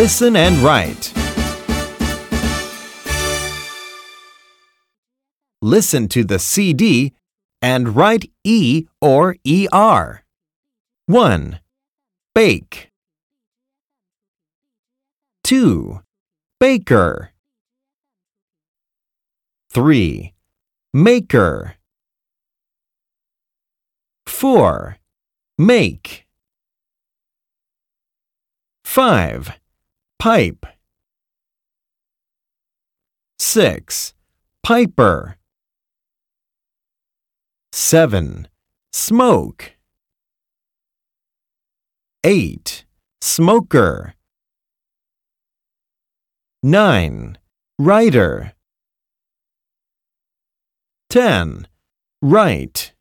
Listen and write. Listen to the CD and write E or ER. 1. Bake. 2. Baker. 3. Maker. 4. Make. 5. Pipe. 6. Piper. 7. Smoke. 8. Smoker. 9. Writer. 10. Write.